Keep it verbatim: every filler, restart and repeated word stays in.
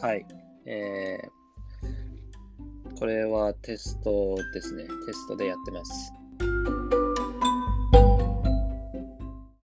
はい。えー、これはテストですね。テストでやってます。